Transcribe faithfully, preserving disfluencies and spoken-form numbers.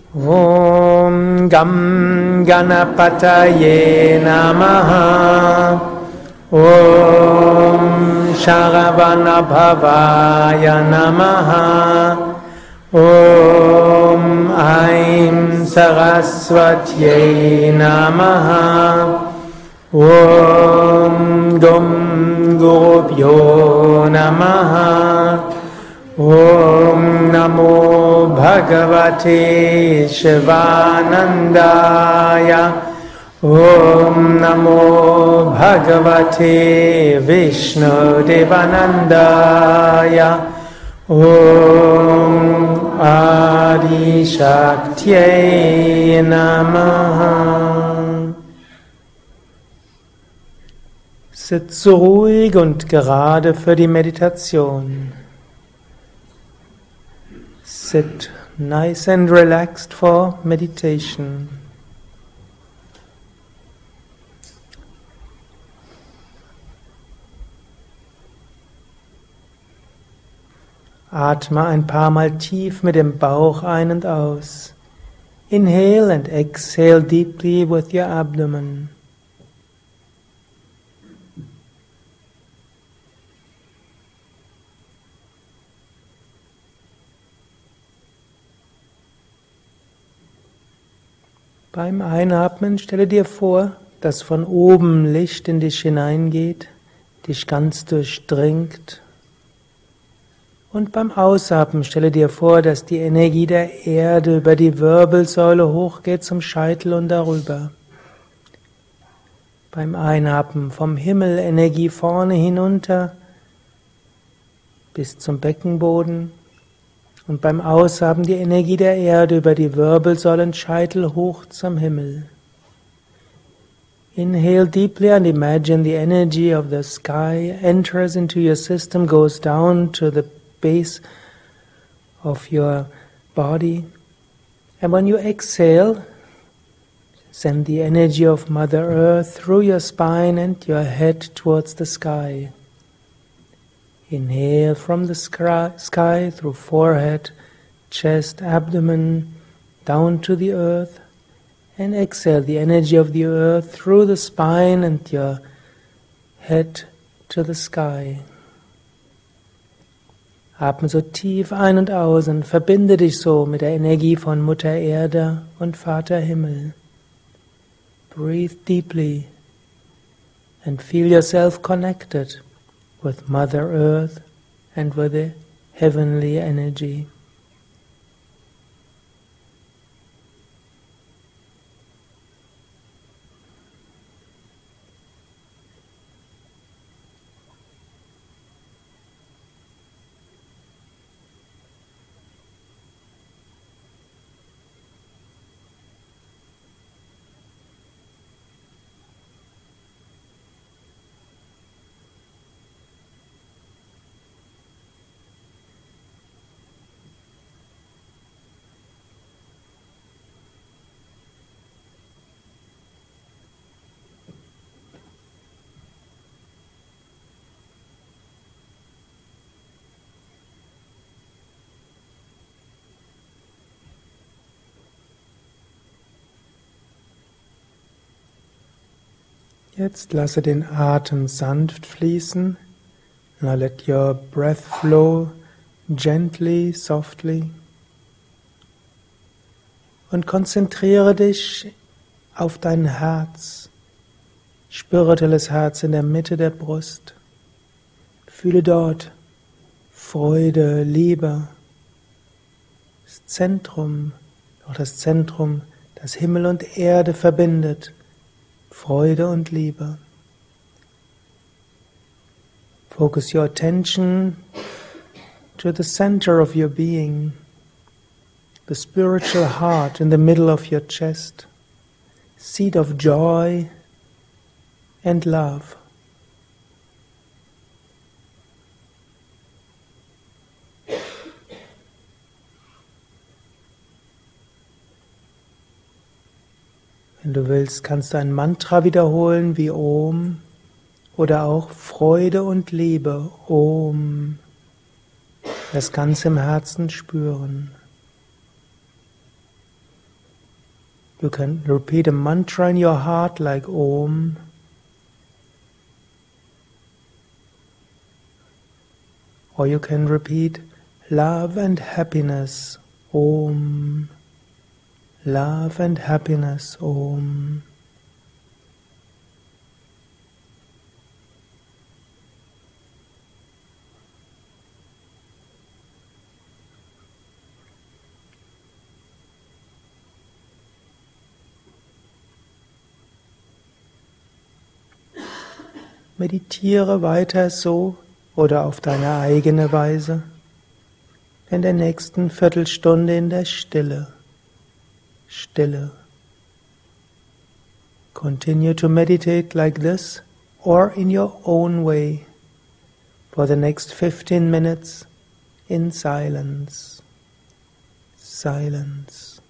Om Gam Ganapataye Namaha. Om Sharavana Bhavaya Namaha. Om Aim Saraswatye Namaha. Om Gum Gurubhyo Namaha. Om Namo Bhagavate Shivanandaya. Om Namo Bhagavate Vishnu Devanandaya. Om Adi Shaktiye Namaha. Sitze ruhig und gerade für die Meditation. Sit nice and relaxed for meditation. Atme ein paar Mal tief mit dem Bauch ein und aus. Inhale and exhale deeply with your abdomen. Beim Einatmen stelle dir vor, dass von oben Licht in dich hineingeht, dich ganz durchdringt. Und beim Ausatmen stelle dir vor, dass die Energie der Erde über die Wirbelsäule hochgeht zum Scheitel und darüber. Beim Einatmen vom Himmel Energie vorne hinunter bis zum Beckenboden. Und beim Ausatmen die Energie der Erde über die Wirbelsäulenscheitel hoch zum Himmel. Inhale deeply and imagine the energy of the sky enters into your system, goes down to the base of your body. And when you exhale, send the energy of Mother Earth through your spine and your head towards the sky. Inhale from the sky through forehead, chest, abdomen, down to the earth. And exhale the energy of the earth through the spine and your head to the sky. Atme so tief ein und aus und verbinde dich so mit der Energie von Mutter Erde und Vater Himmel. Breathe deeply and feel yourself connected with Mother Earth and with the heavenly energy. Jetzt lasse den Atem sanft fließen. Now let your breath flow gently, softly. Und konzentriere dich auf dein Herz. Spirituelles Herz in der Mitte der Brust. Fühle dort Freude, Liebe. Das Zentrum, auch das Zentrum, das Himmel und Erde verbindet. Freude und Liebe. Focus your attention to the center of your being, the spiritual heart in the middle of your chest, seat of joy and love. Wenn du willst, kannst du ein Mantra wiederholen wie Om oder auch Freude und Liebe, Om. Das Ganze im Herzen spüren. You can repeat a mantra in your heart like Om. Or you can repeat love and happiness, Om. Love and happiness, Om. Meditiere weiter so oder auf deine eigene Weise in der nächsten Viertelstunde in der Stille. Stille. Continue to meditate like this or in your own way for the next fifteen minutes in silence. Silence.